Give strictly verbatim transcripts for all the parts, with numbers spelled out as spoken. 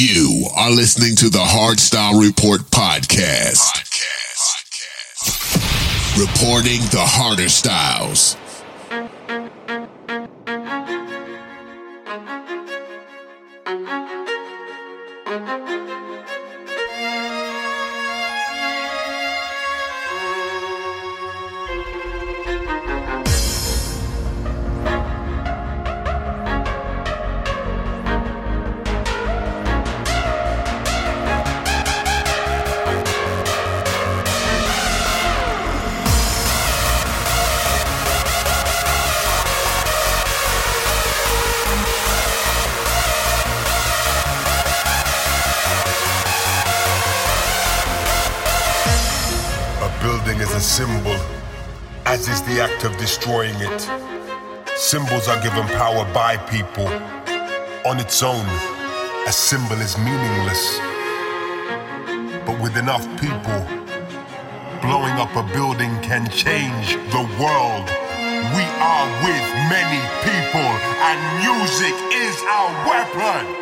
You are listening to the Hardstyle Report podcast. podcast. Reporting the harder styles. Symbol, as is the act of destroying it. Symbols are given power by people. On its own, a symbol is meaningless. But with enough people, blowing up a building can change the world. We are with many people, and music is our weapon.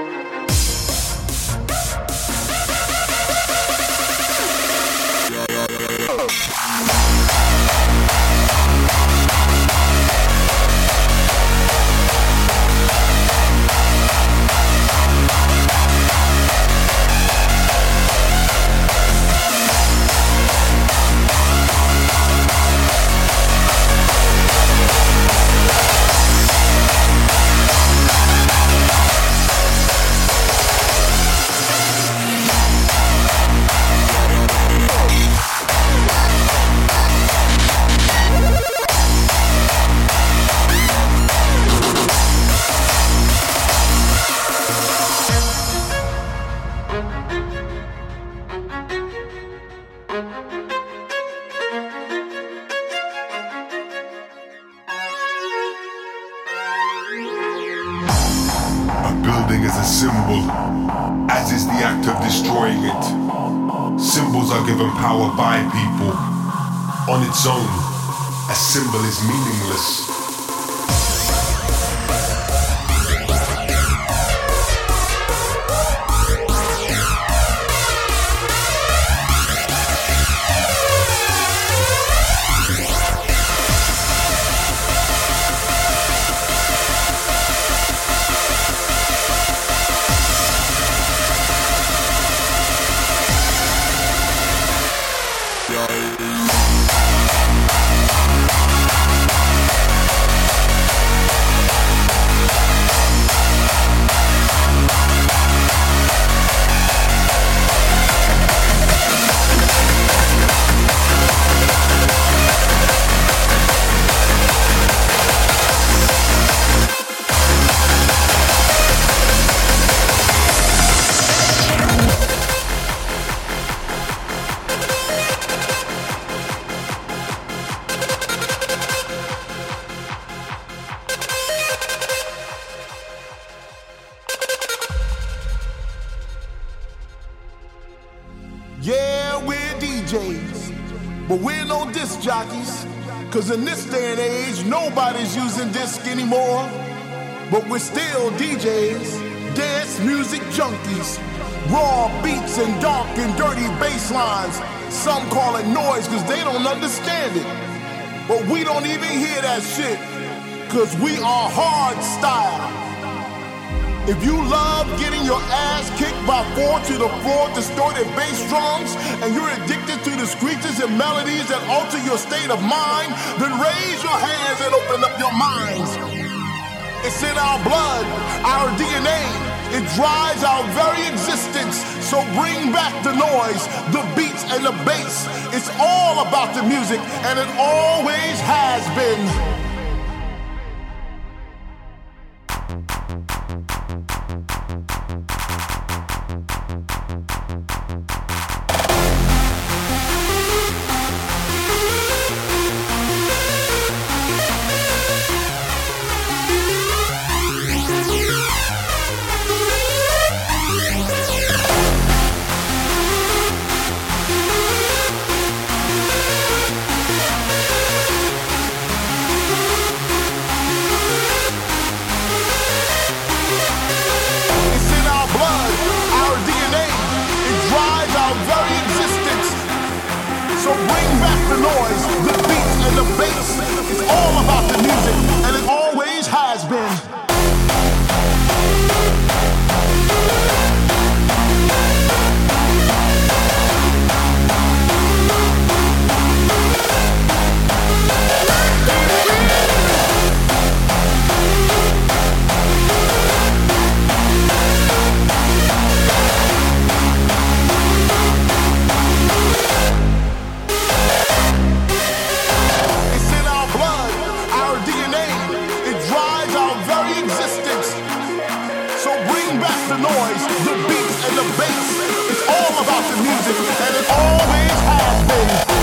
Is a symbol, as is the act of destroying it. Symbols are given power by people. On its own, a symbol is meaningless. But we're no disc jockeys, cause in this day and age, nobody's using disc anymore. But we're still D Js, dance music junkies, raw beats and dark and dirty bass lines. Some call it noise cause they don't understand it. But we don't even hear that shit, cause we are hard style. If you love getting your ass kicked by four to the floor distorted bass drums, and you're addicted to the screeches and melodies that alter your state of mind, then raise your hands and open up your minds. It's in our blood, our D N A. It drives our very existence. So bring back the noise, the beats and the bass. It's all about the music, and it always has been. all about the music, and it always has been. The noise, the beats, and the bass. It's all about the music, and it always has been.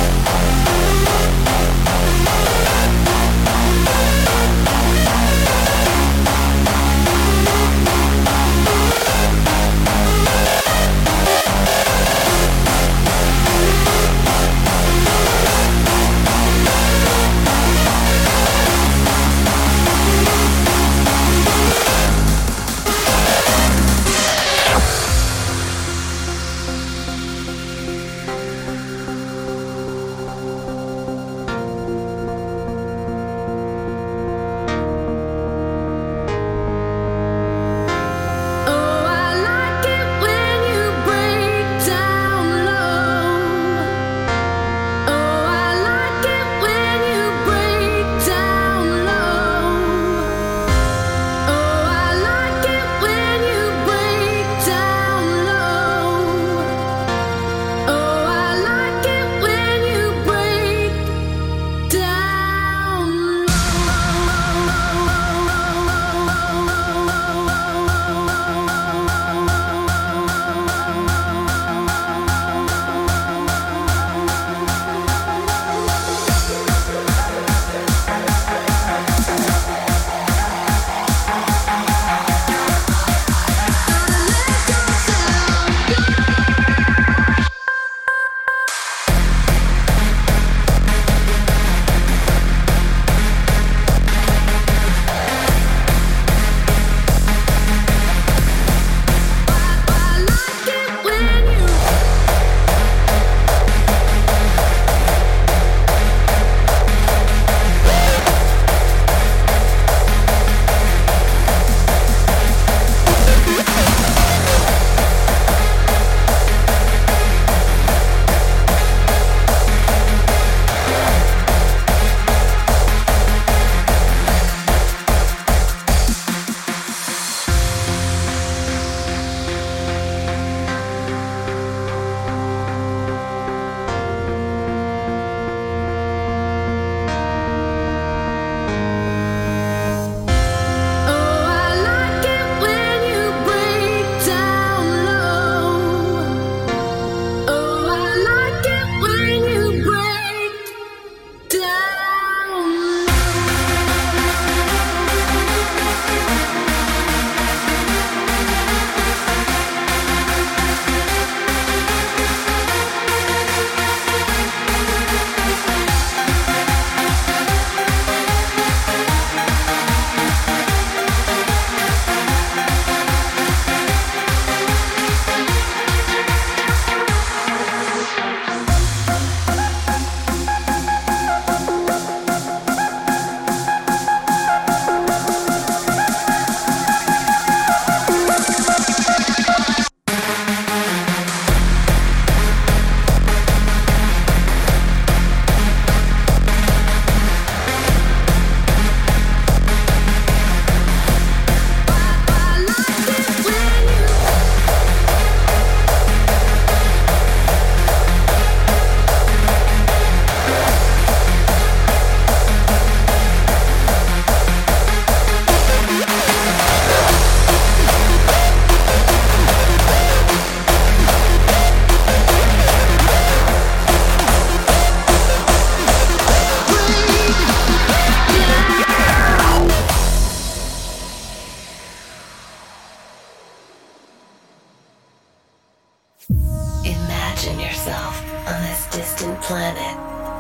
Imagine yourself on this distant planet,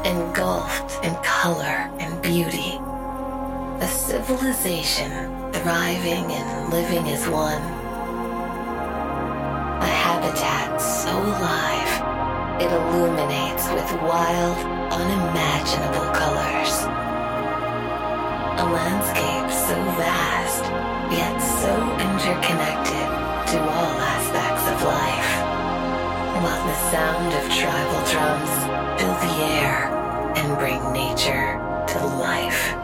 engulfed in color and beauty. A civilization thriving and living as one. A habitat so alive, it illuminates with wild, unimaginable colors. A landscape so vast, yet so interconnected to all aspects of life. While the sound of tribal drums fill the air and bring nature to life.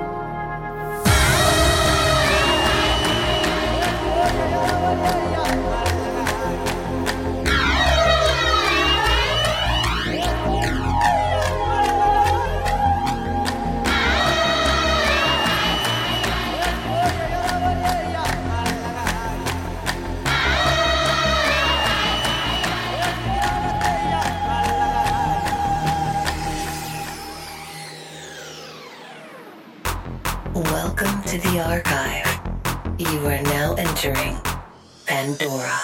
Welcome to the archive. You are now entering Pandora.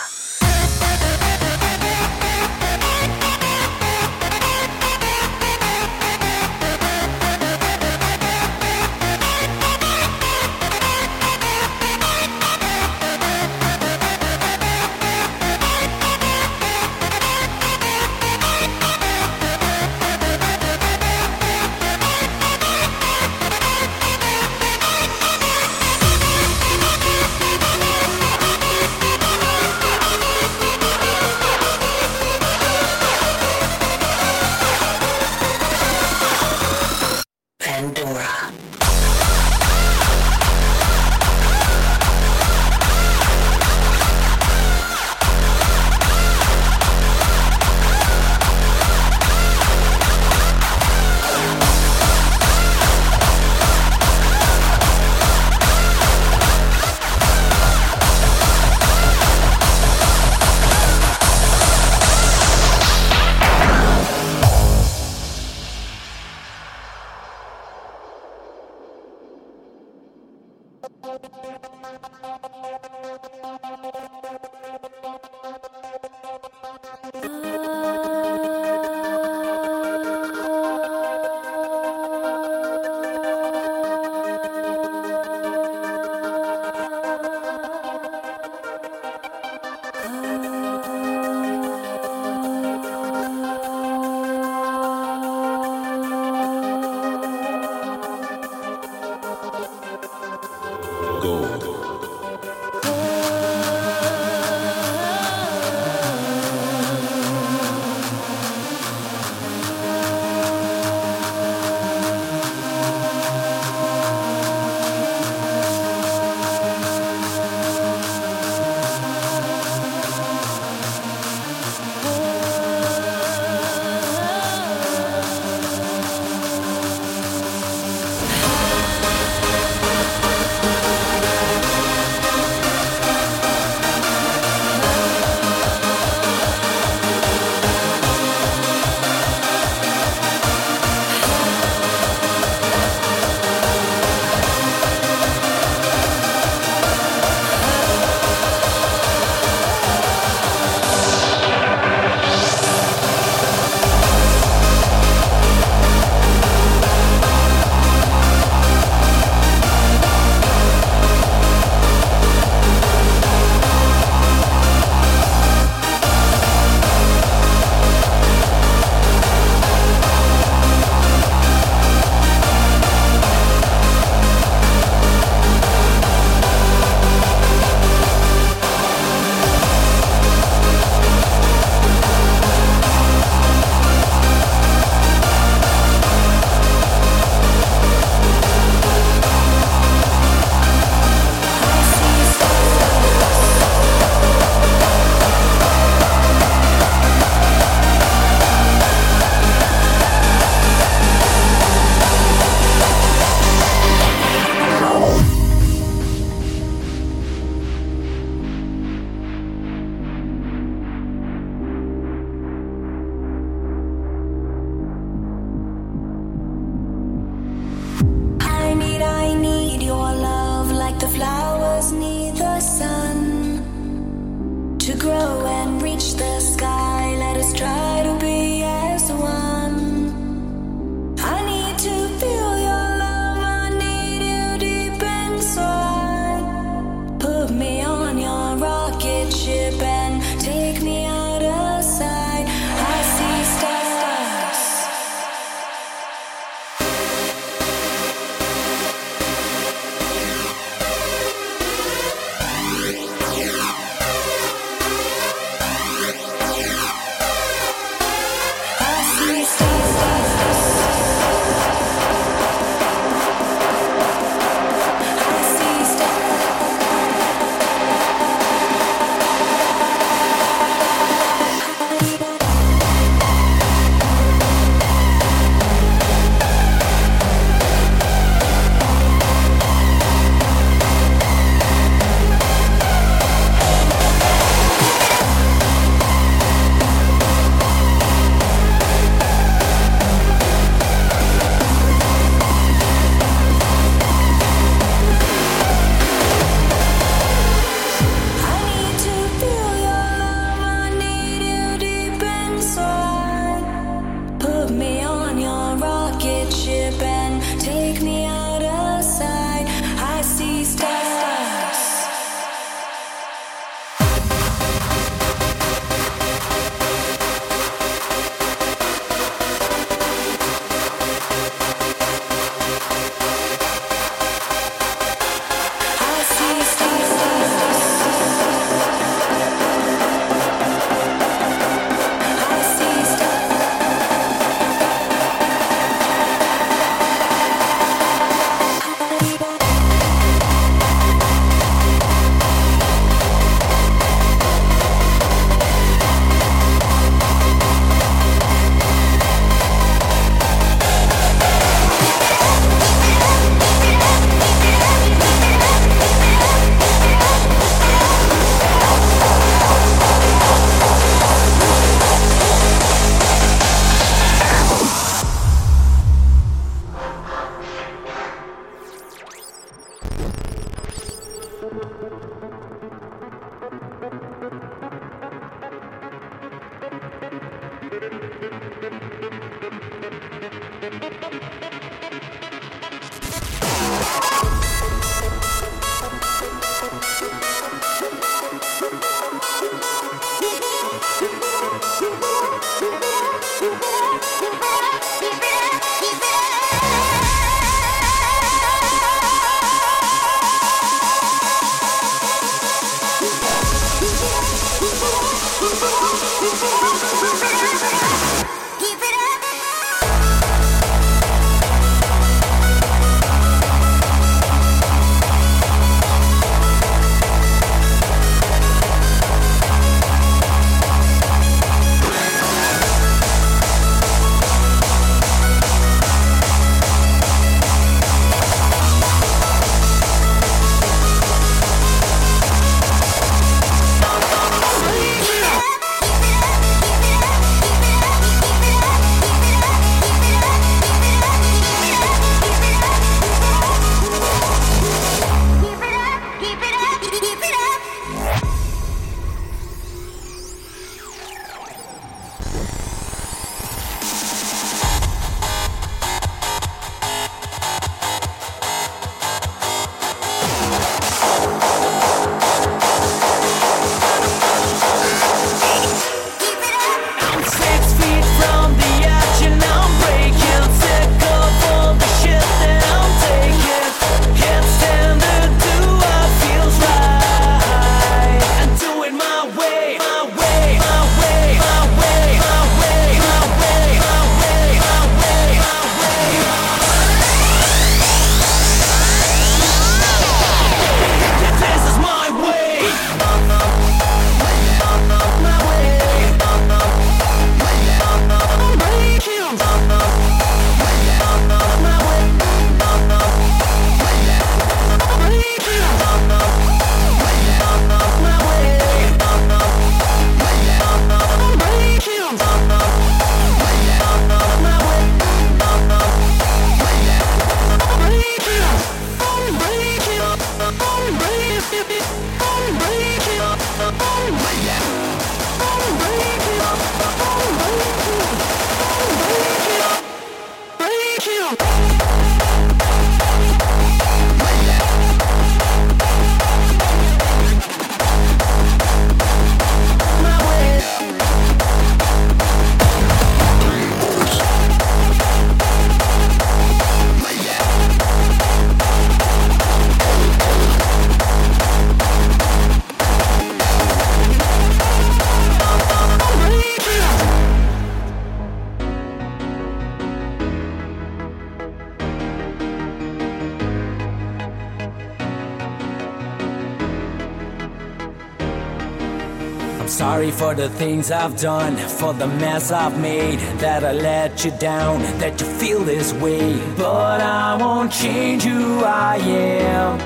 Sorry for the things I've done, for the mess I've made, that I let you down, that you feel this way. But I won't change who I am.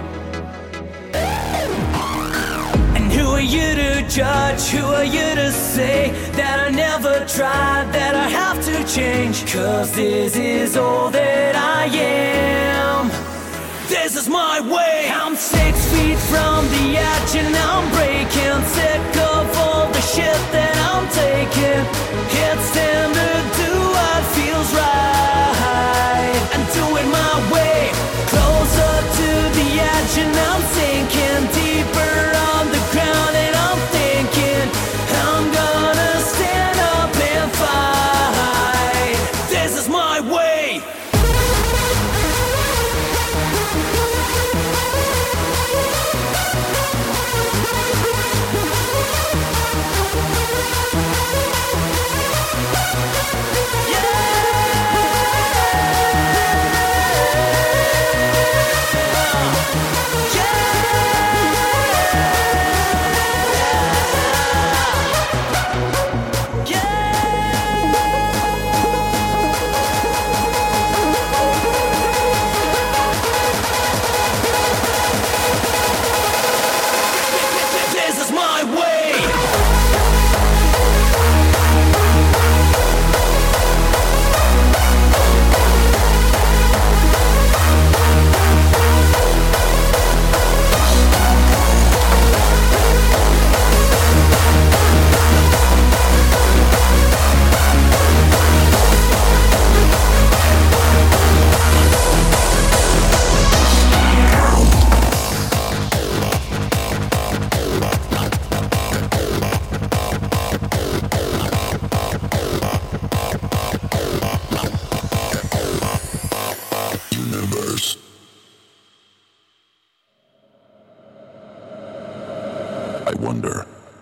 And who are you to judge? Who are you to say that I never tried, that I have to change? 'Cause this is all that I am. This is my way. I'm six feet from the edge and I'm breaking, sick of all the shit that I'm taking. It's time to do what feels right and do it my way. Closer to the edge and I'm sinking deeper on the ground, and I'm thinking I'm gonna stand up and fight. This is my way.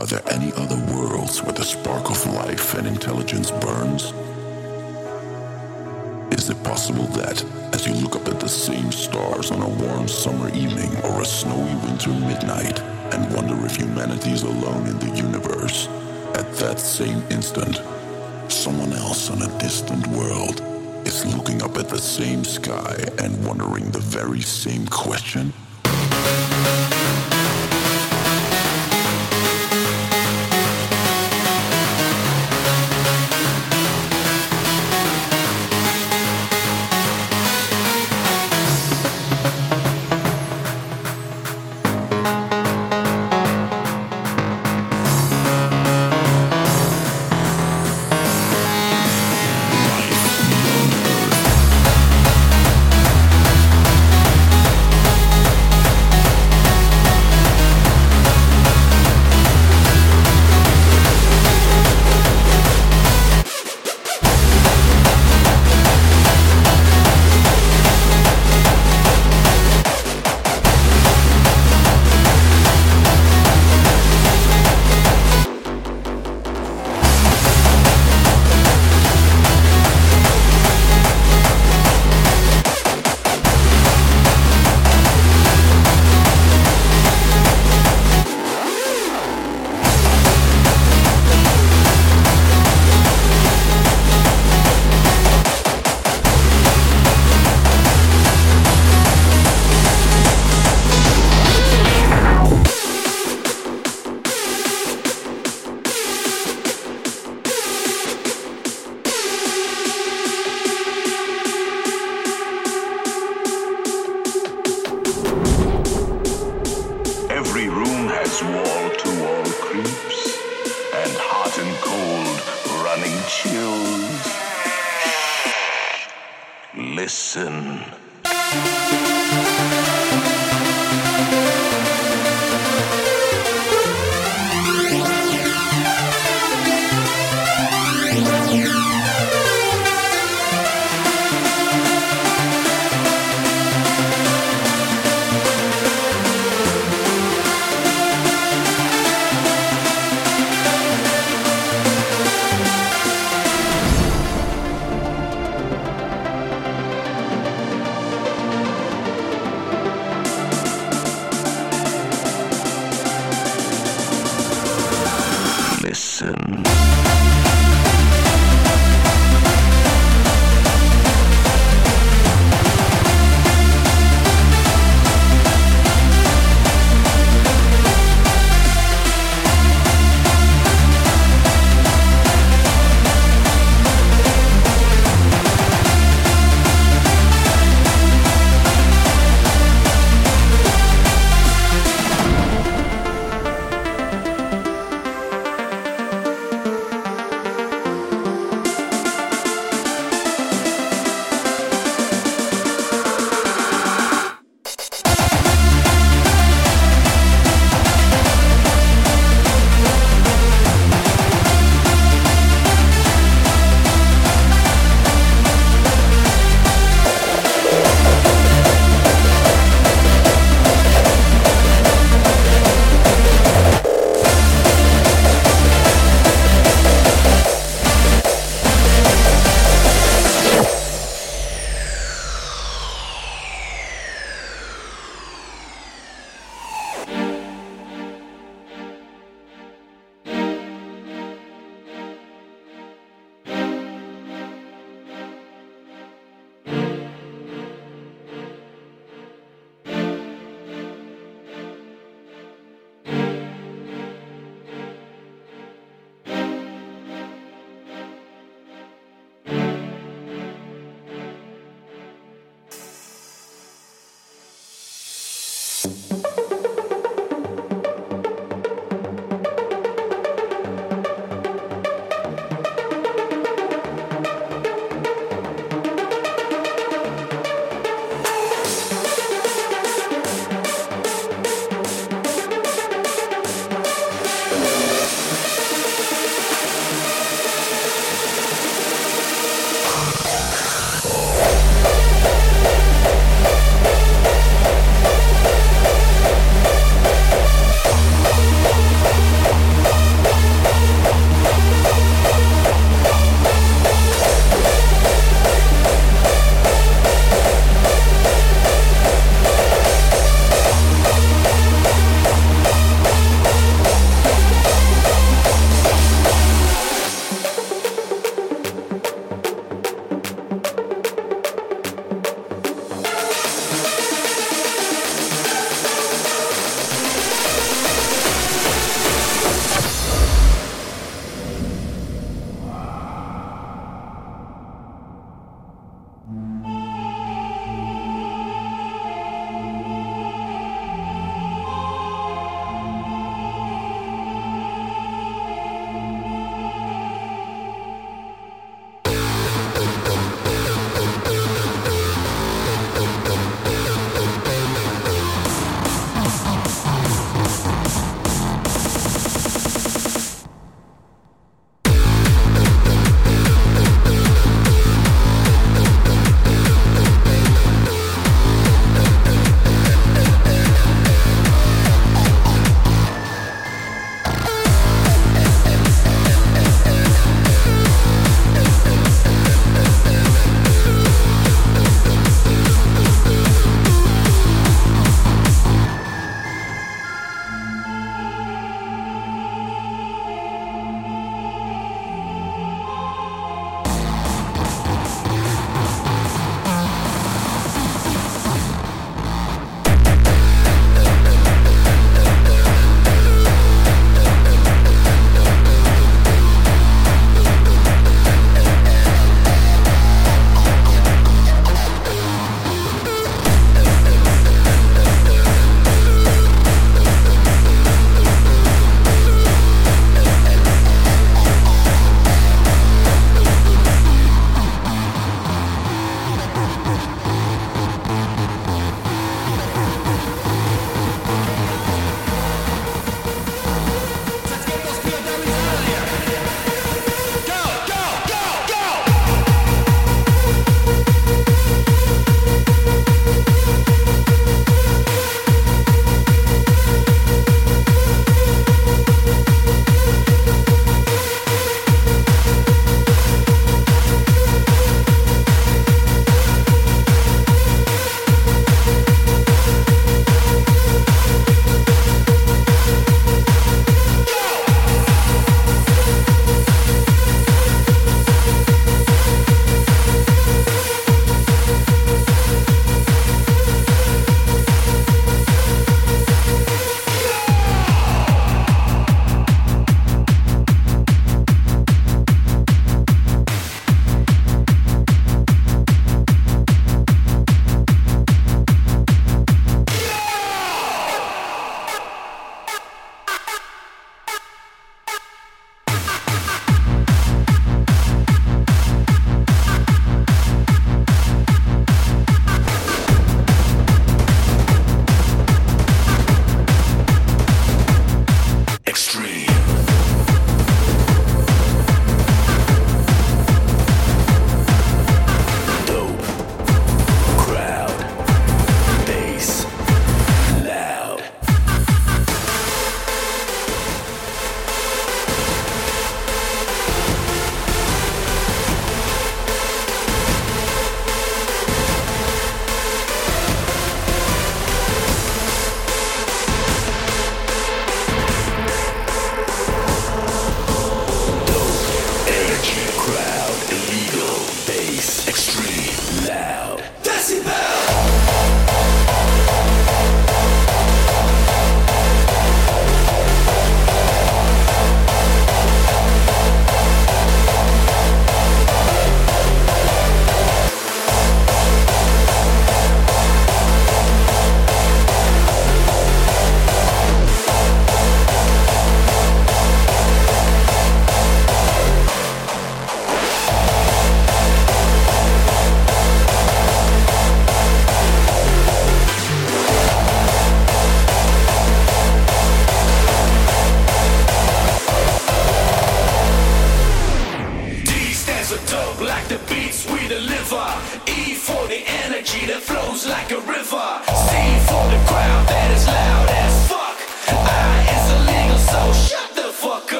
Are there any other worlds where the spark of life and intelligence burns? Is it possible that, as you look up at the same stars on a warm summer evening or a snowy winter midnight and wonder if humanity is alone in the universe, at that same instant, someone else on a distant world is looking up at the same sky and wondering the very same question? Listen. Listen.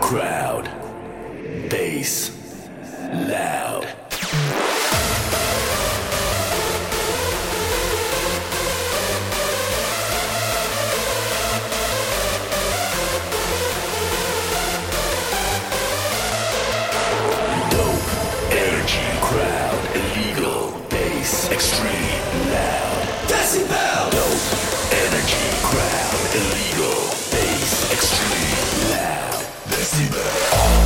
crowd. Bass loud. Dope energy crowd. Illegal bass extreme loud. Decibel. Dope energy crowd. Illegal bass extreme loud. Decibel.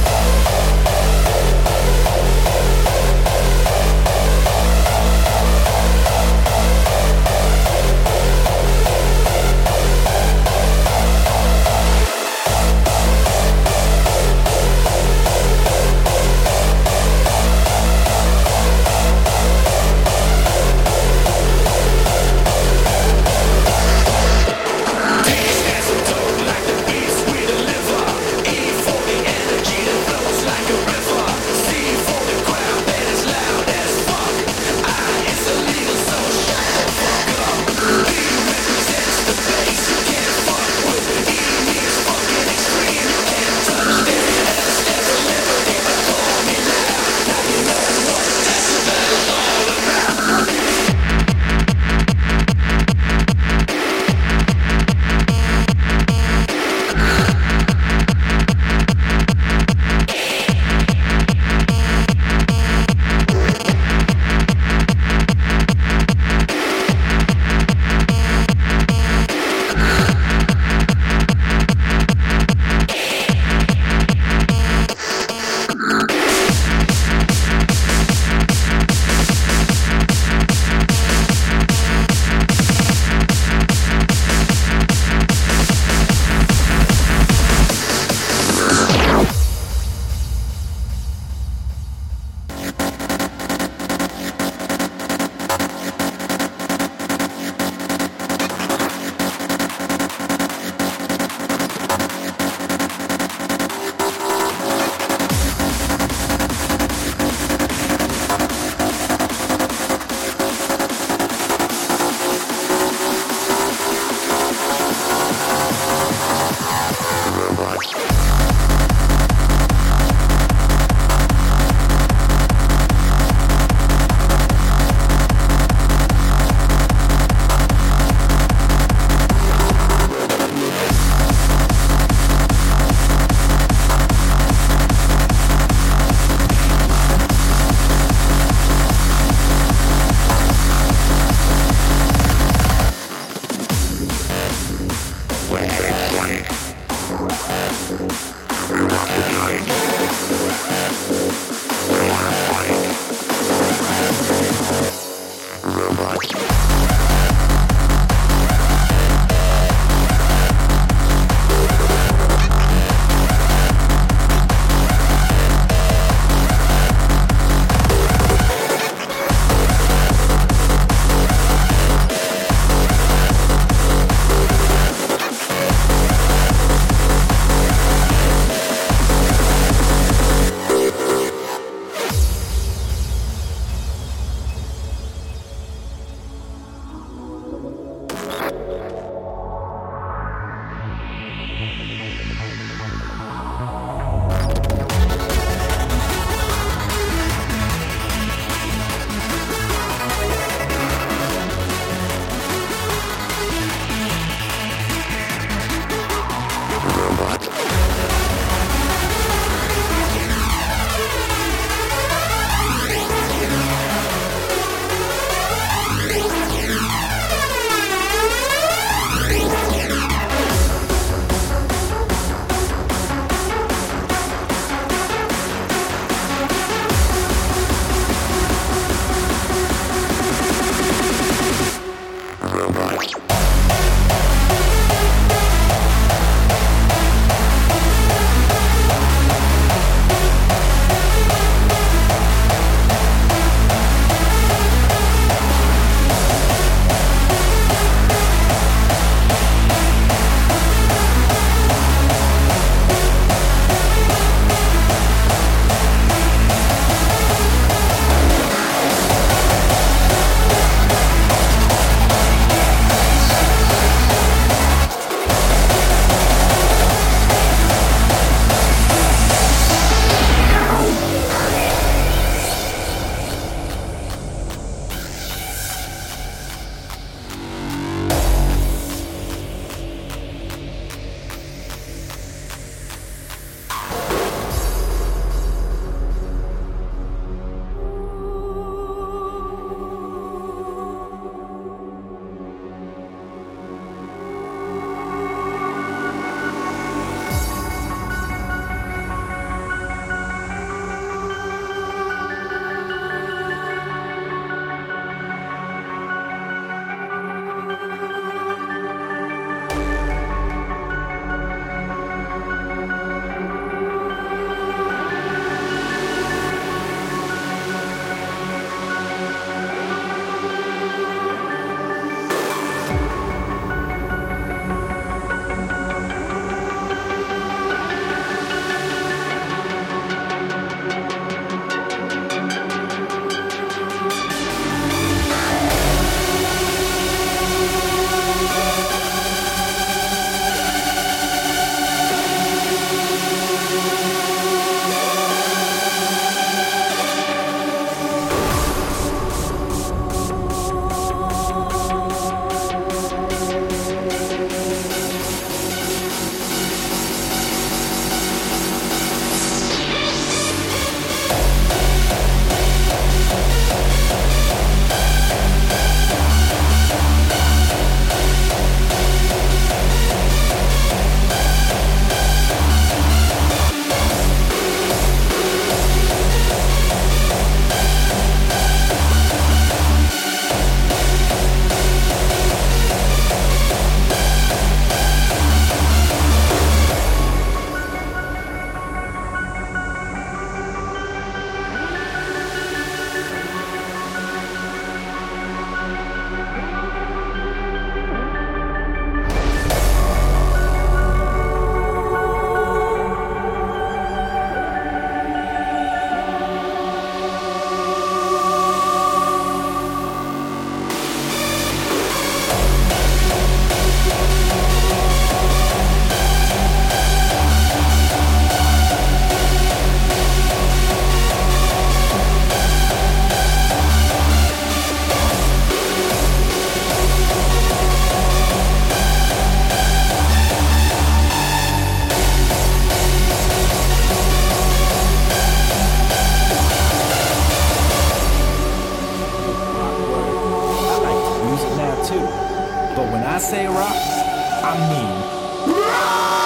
say rock, I mean rock.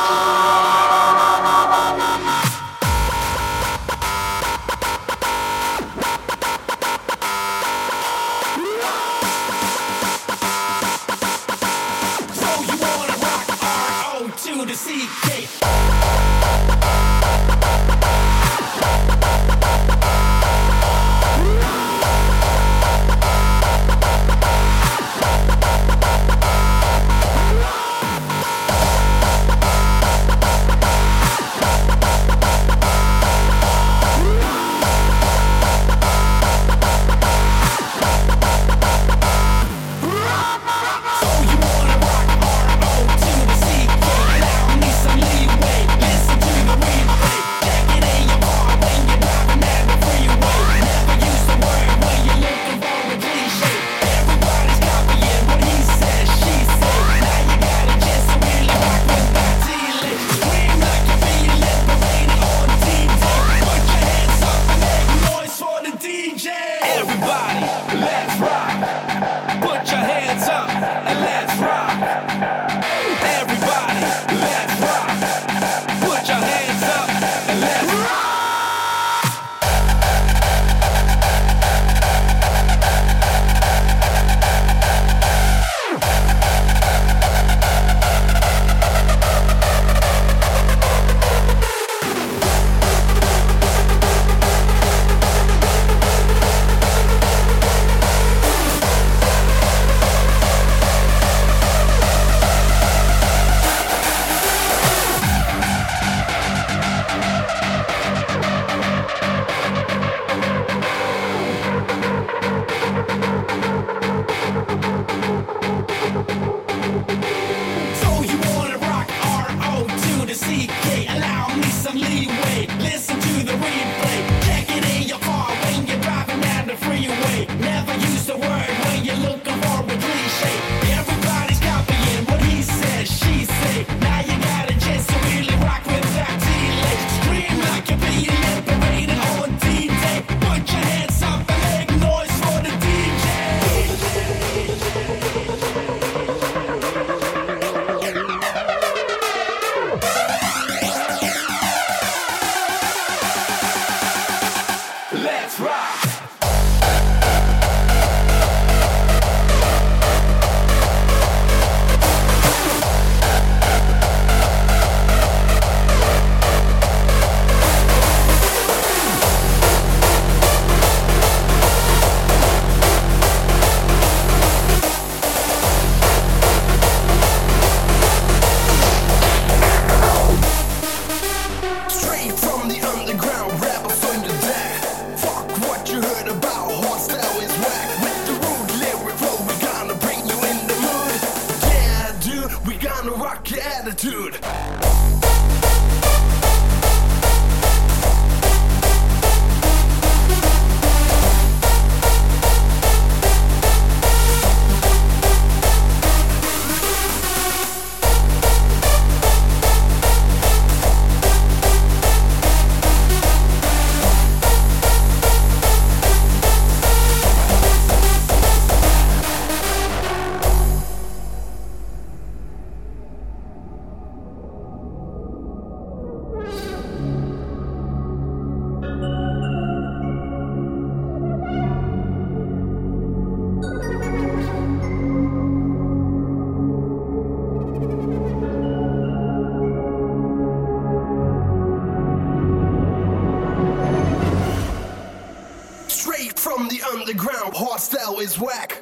underground, hardstyle is whack.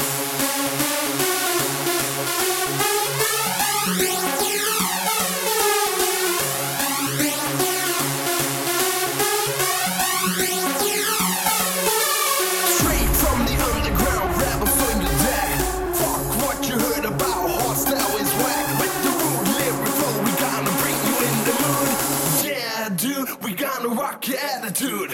Straight from the underground, rappers on your deck. Fuck what you heard about, hardstyle is whack. With the rude lyric flow, we gonna bring you in the mood. Yeah, dude, we gonna rock your attitude.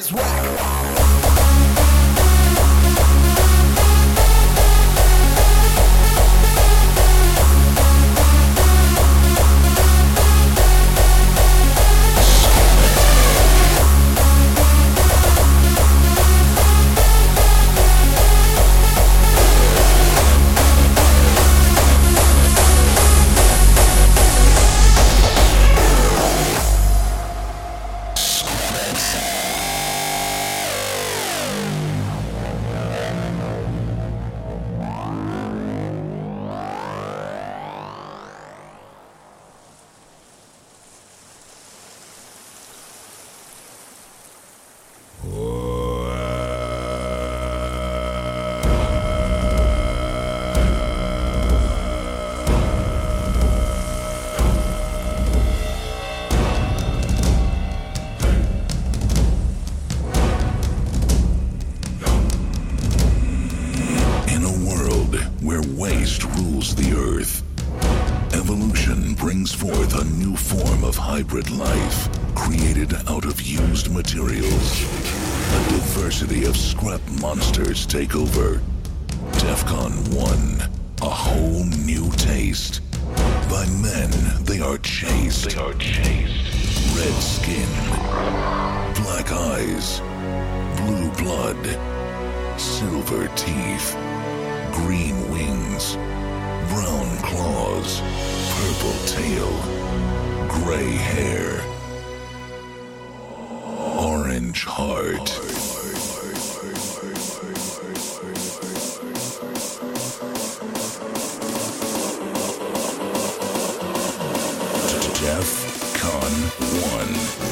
is whack. Hybrid life created out of used materials. A diversity of scrap monsters take over. DEFCON one, a whole new taste. By men, they are chased. They are chased. Red skin, black eyes, blue blood, silver teeth, green wings, brown claws, purple tail, gray hair, orange heart. DEFCON one.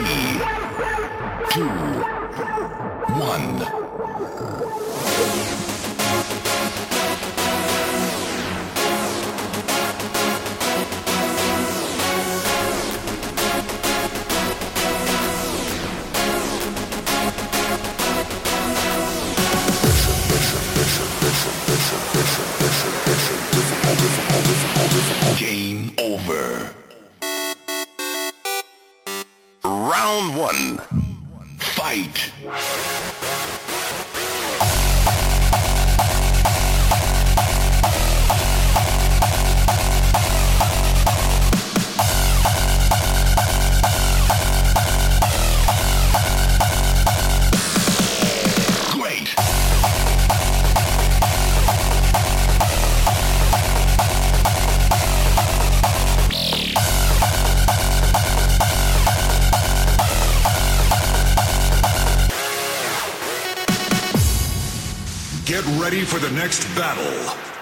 Three, two, one. Game over. Round one. Fight. Get ready for the next battle.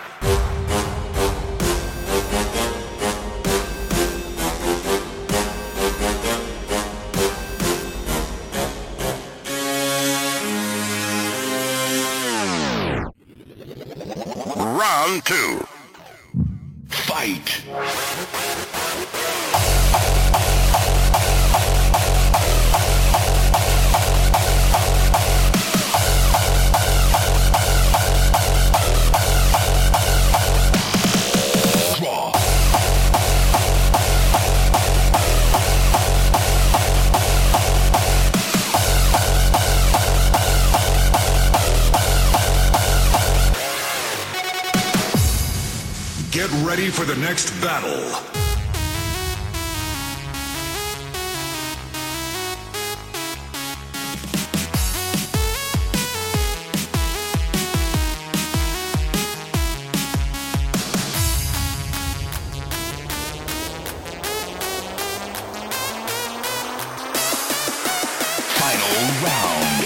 Round two. Fight. Get ready for the next battle. Final round.